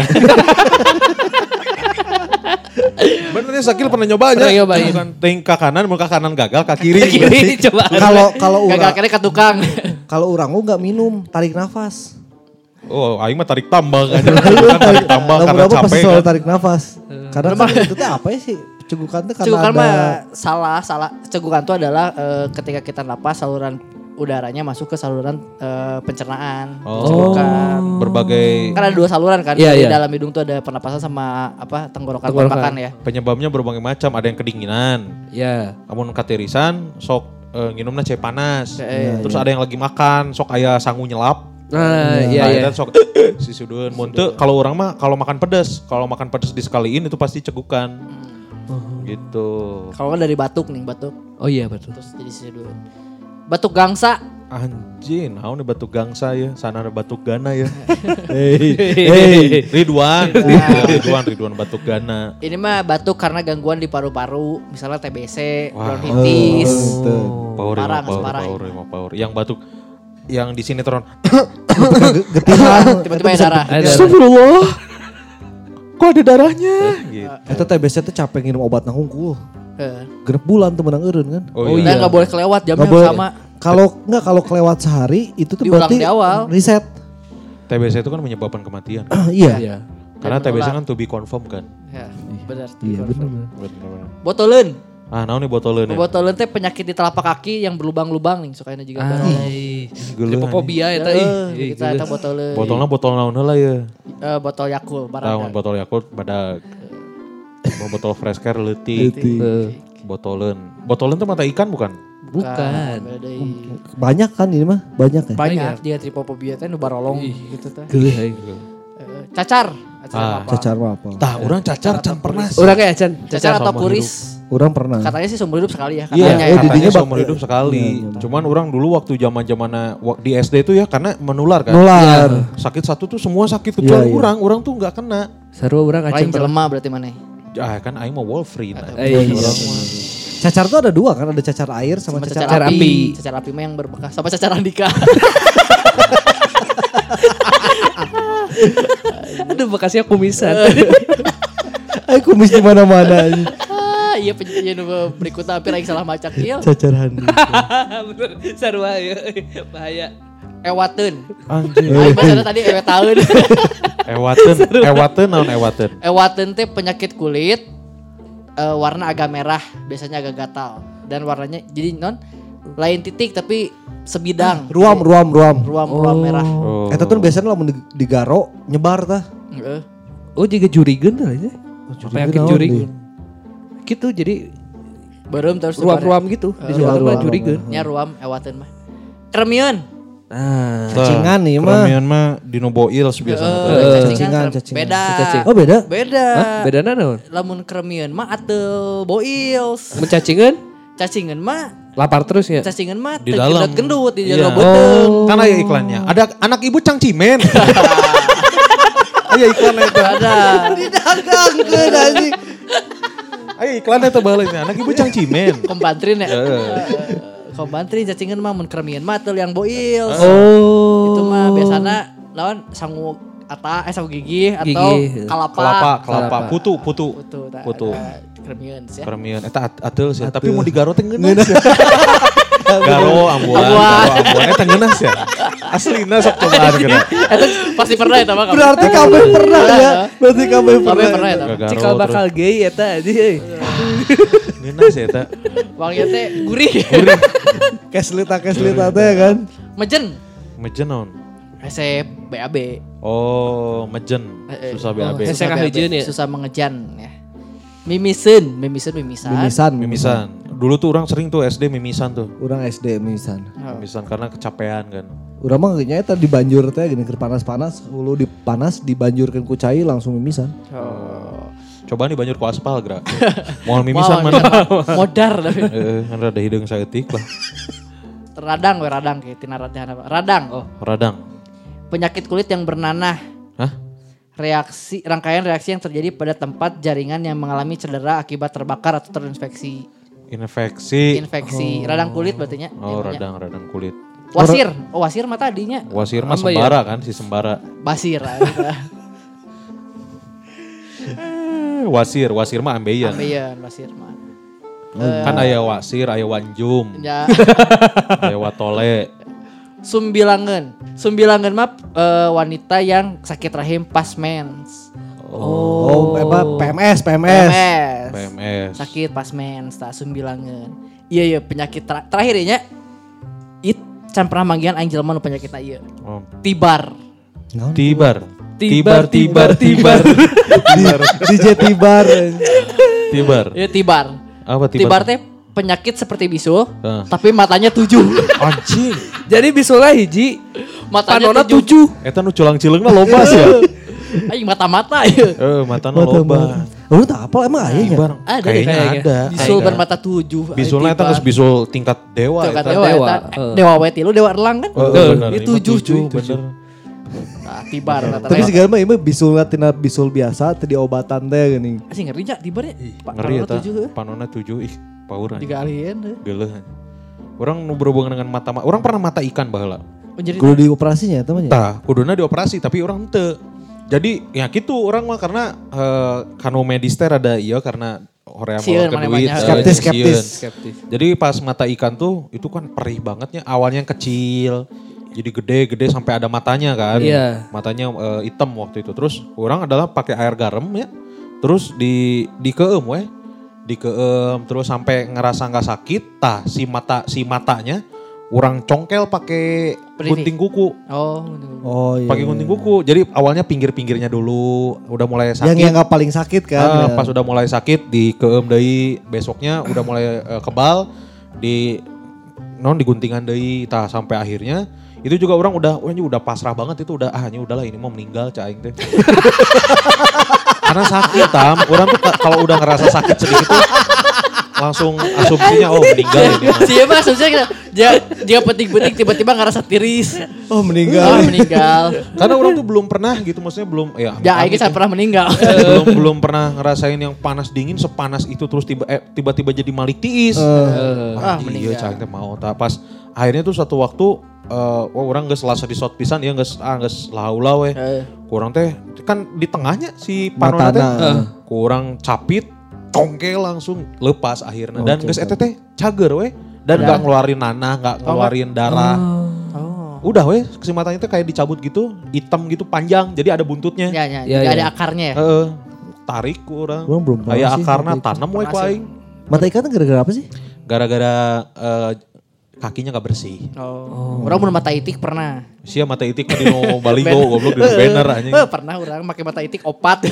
Benernya Sakil pernah nyobanya. Pernah nyobain. Bukan ting ke kanan, muka kanan gagal, ke kiri. Kiri coba. Kalau Gagal urang kira ke tukang. kalau urang nggak minum, tarik nafas. Oh, aing mah tarik tambang kan. Tarik tambang karena Lama-lama pasti capek selalu kan. tarik nafas. Karena kan itu tuh apa ya sih? Cegukan tuh karena Cegukan ada mah salah. Cegukan itu adalah ketika kita napas saluran udaranya masuk ke saluran pencernaan. Oh. Cegukan. Berbagai Kan ada 2 saluran kan. Iya, Di iya. dalam hidung tuh ada pernapasan sama tenggorokan Tenggorokan. makan ya. penyebabnya berbagai macam. Ada yang kedinginan. Ya. Namun katirisan sok nginumna cai panas. Iya, Terus ada yang lagi makan, sok aya sangu nyelap. Nah, Nah, iya. itu sok si sudun. Mun teu kalau orang mah kalau makan pedas disekaliin itu pasti cegukan. Gitu. Kalau kan dari batuk nih, batuk Oh iya betul. terus jadi sidul. Batuk gangsa. Anjing, naon nih batuk gangsa ya, sana ada batuk gana ya. Hei. Ridwan batuk gana. Ini mah batuk karena gangguan di paru-paru, misalnya TBC, Wah. bronkitis. Power. Yang batuk yang di sinetron. getihan. Tiba-tiba ya darah. Ada. Astagfirullah. Kok ada darahnya? Gitu. Eta TBC tuh capek nginum obat hungkul. Heeh. Genep bulan tuh menang eureun kan. Oh, Dan iya. nggak boleh kelewat jamnya Nggak boleh. sama. Kalau kelewat sehari itu tuh Diulang berarti di awal. reset. TBC itu kan menyebabkan kematian. Iya. Iya. Karena Dan TBC menular. kan to be confirm kan. Ya, benar. Iya benar. Bener-bener. Botoleun. Ah, naon nih botoleun ya? Botoleun teh penyakit di telapak kaki yang berlubang-lubang nih sukanya juga. Ai. Geuleuh, Lipofobia eta ih. Kita ada botoleun. Botolnya botol naon heula ya? Botol Yakult Tahun barang. botol Yakult badag. Mau botol fresh care leutik. Botoleun. Botoleun tuh mata ikan bukan? Bukan. Banyak kan ini mah, banyak ya. Banyak dia tripofobia teh nu barolong gitu teh. Geuleuh. Cacar. Cacar mah apa? Tah, orang cacar can pernah. Urang ya Chan. Cacar atau seumur kuris. Orang pernah. Katanya sih seumur hidup sekali ya. Iya, Katanya oh, ya. katanya didinya seumur hidup sekali. Iya. Cuman orang dulu waktu zaman-zamanna di SD itu ya karena menular kan. Nular. Sakit satu tuh semua sakit kecuali Iya, iya. orang tuh nggak kena. Sarua urang Lain acan. jelema berarti mana? Ah kan aing mau Wolverine. Iya. Cacar tuh ada 2 kan, ada cacar air sama Sama cacar cacar api. Cacar api mah yang berbekas. Sama cacar Andika. Aduh bekasnya kumisan. Ay, kumis di mana-mana ini. Iya penyanyi berikutnya hampir lagi salah macak ieu. Cacar handi. Bener. Sarua ya. Bahaya. Ewateun. Anjing. Aing bahasa tadi ewetaeun. Ewateun naon ewateun? Ewateun teh penyakit kulit warna agak merah, biasanya agak gatal dan warnanya jadi non lain titik tapi sebidang. Ruam. Ruam merah. Oh. Eta tuh biasanya lamun digaro nyebar tah. Heeh. Oh juga jurigen lah ya. Penyakit naon jurigen. Gitu jadi Beureum terus ruam-ruam gitu. Di Iya, sebelah mah ruam. jurigen. nya ruam ewateun mah. Kremion. Nah. Cacingan nih mah. Kremion mah Dino Boils biasanya. Cacingan. Beda. Cacing. Oh beda? Beda. Hah? Bedana naon? Lamun kremion mah ateu boils. Mencacingan? Cacingan mah Lapar terus ya? cacingan mah Di dalam. gendut di Iya. jero beuteung. Kan aya iklannya. Ada anak ibu cangcimen. Aya iklan eta. Ada. Didagangkeun anjing. Aya iklan eta baheula anak ibu cangcimen. Kompantrin ya. Heeh. Kompantrin cacingan mah mun kremion mah teu yang boils. Oh. Itu mah biasana lawan sangu sangu gigi atau Gigi. kalapa. Kelapa, putu. Putu. Putu. Kremion ya. Kremion eta ateul sih, tapi mau digaro teh ngeunas. Garo ambuan. Eta ngeunas ya. Aslina sok cobaan kena. Itu pasti pernah ya mah. Berarti kabeh pernah ya. Berarti kabeh Kabeh pernah. pernah ya. Garo Cikal bakal gay eta anjing. ngeunas ya eta. Wanginya teh gurih. Keslita teh kan. Mejen. Mejen naon? Resep BAB. Oh, mejen. Susah BAB. Hese kahejeun ya? Susah mengejan ya. Mimisan. Mimisan. Dulu tuh orang sering tuh SD mimisan tuh. Urang SD mimisan. Mimisan karena kecapean kan. Urang mah nya eta dibanjur teh gini keur panas-panas, hulu dipanas dibanjurkeun ku cai langsung mimisan. Coba nih banjur ku aspal gerak. Moal mimisan mana? Modar tapi. Kan rada hideung saeutik lah. Radang kayak tina radang apa? Radang. Radang. Penyakit kulit yang bernanah. Hah? rangkaian reaksi yang terjadi pada tempat jaringan yang mengalami cedera akibat terbakar atau terinfeksi. Infeksi. Radang kulit berarti nya. Oh, radang kulit. Wasir. Wasir mah tadinya. Wasir mah sembara kan, si sembara. Basir. Wasir mah ambeien. Wasir mah. Kan aya wasir, aya wanjum. Ya. Aya watole. Sumbilangan mah wanita yang sakit rahim pas mens. PMS. Sakit pas mens, tak sumbilangan. Iya penyakit terakhir nya. Can pernah manggihan aing jelema nu penyakitna ieu. Tibar. Tibar. DJ Tibar. Iya tibar. Apa Tibar teh penyakit seperti bisul, tapi matanya 7. Anjing. Jadi bisulnya hiji, Matanya panona 7. Eta nu culang-cileungna loba sih ya. Aing mata-mata ieu. Matana loba. Lu tak apa emang aya nya? Ada Kayaknya ada. Bisul bermata 7. Bisulnya eta geus bisul tingkat dewa. Tingkat eta. dewa. Dewa we tilu dewa erlang kan. Bener. Itu 7 cuy. Bener. Nah, tibar. Tapi segala mah ieu bisul tina bisul biasa teu diobatan teh geuning. Asing ngeri nya tibar ya. Ngeri eta. Panona 7 pauran. Tiga alien. Geuleuh. Orang nu berhubungan dengan mata. Orang pernah mata ikan baheula. Kudu dioperasinya eta mah nya. Tah, kuduna dioperasi tapi orang teu. Jadi ya gitu orang mah karena kanu medis teh rada ieu karena hoream ke duit. Skeptis. Jadi pas mata ikan tuh itu kan perih bangetnya. Awalnya yang kecil. Jadi gede sampai ada matanya kan. Iya. Matanya hitam waktu itu. Terus orang adalah pakai air garam ya. Terus dikeum we. Dikeum terus sampai ngerasa nggak sakit. Tah si matanya orang congkel pakai gunting kuku. Oh iya. Pakai gunting kuku. Jadi awalnya pinggir-pinggirnya dulu udah mulai sakit. Yang nggak paling sakit kan. Pas udah mulai sakit dikeum deui, besoknya udah mulai kebal diguntingan deui tah sampai akhirnya itu juga orang udah pasrah banget itu udah ini udahlah ini mau meninggal cah aing teh. Karena sakit orang tuh kalau udah ngerasa sakit sedikit tuh langsung asumsinya meninggal ini. Siapa asumsinya dia petik-petik tiba-tiba ngerasa tiris. Meninggal. Karena orang tuh belum pernah gitu maksudnya belum aing saya pernah meninggal. belum pernah ngerasain yang panas dingin sepanas itu terus tiba-tiba jadi malik tiis. Meninggal. Iya cah teh mau pas akhirnya tuh satu waktu orang geus lasa di shot pisan ya geus laula we. Kurang teh kan di tengahnya si panona teh. Kurang capit congkel langsung lepas akhirnya dan geus eta teh cager we dan enggak ngeluarin nanah, enggak ngeluarin darah. Udah we si matanya teh kayak dicabut gitu, hitam gitu panjang jadi ada buntutnya. Ya, ada akarnya ya. Tarik kurang. Orang belum pernah kayak sih, akarna tanam we ku aing. Mata ikan gara-gara apa sih? Gara-gara kakinya gak bersih. Orang mau mata itik pernah. Sia mata itik di no baligo goblok di banner anjing. Pernah orang pakai mata itik opat.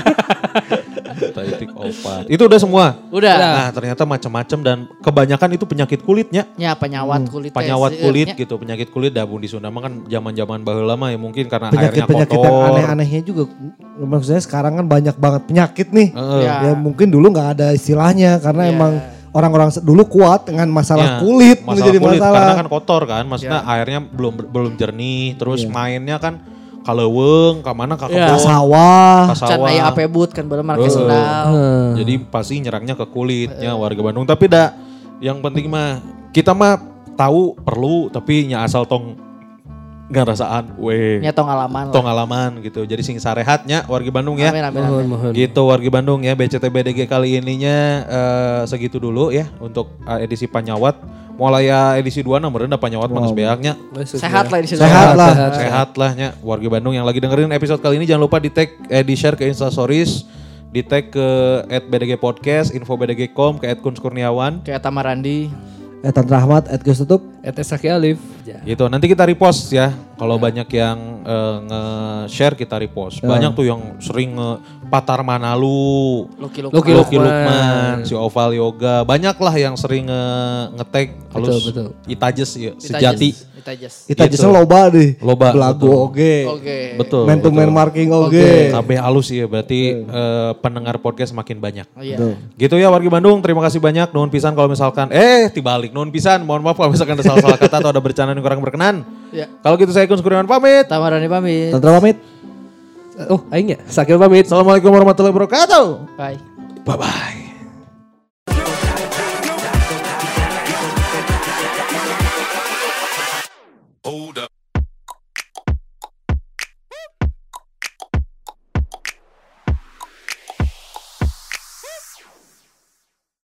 Mata itik opat. Itu udah semua. Udah. Nah, ternyata macam-macam dan kebanyakan itu penyakit kulitnya. Ya, penyawat kulit. Penyawat kulit gitu, penyakit kulit bun di Sunda mah kan zaman-zaman baheula mah ya mungkin karena airnya penyakit kotor. yang aneh-anehnya juga. Maksudnya sekarang kan banyak banget penyakit nih. Ya mungkin dulu nggak ada istilahnya karena emang orang-orang dulu kuat dengan masalah kulit menjadi masalah. Karena kan kotor kan, maksudnya airnya belum jernih, terus mainnya kan kaleuweung, ka mana ka kebun, sawah. Can aya apebut kan bener marke sendal. Jadi pasti nyerangnya ke kulitnya warga Bandung. Tapi yang penting mah kita mah tahu perlu tapi nya asal tong ngarasaan Nya tong alaman gitu. Jadi sing sarehatnya warga Bandung ya. Amin. Gitu warga Bandung ya. BCTBDG kali ininya segitu dulu ya untuk edisi Panyawat. Mulai edisi 2 merendah Panyawat manis beaknya. Sehat lah edisi 2. Sehat lah nya warga Bandung yang lagi dengerin episode kali ini jangan lupa di share ke Instastories, di tag ke @bdgpodcast, info bdg.com, ke @kunskurniawan, ke Tamarandi, Tantra Ahmad, @Gustutup, Saki Alif. Gitu. Nanti kita repost ya. Kalau banyak yang nge-share kita repost. Banyak tuh yang sering Patar Manalu, Lucky Lukman, si Oval Yoga. Banyak lah yang sering nge-tag halus Itajes ya, sejati. Itajes loba deh. Belagu oge. Betul. Man to man marking oge. Kabeh halus ya berarti pendengar podcast makin banyak. Gitu ya warga Bandung, terima kasih banyak. Nuhun pisan kalau misalkan dibalik nuhun pisan. Mohon maaf kalau misalkan ada salah-salah kata atau ada bercanda yang kurang berkenan. Kalau gitu saya Kun Kurniawan pamit. Tamarani pamit. Tantra pamit. Oh, aing ya. Sakil pamit. Assalamualaikum warahmatullahi wabarakatuh. Bye. Bye-bye.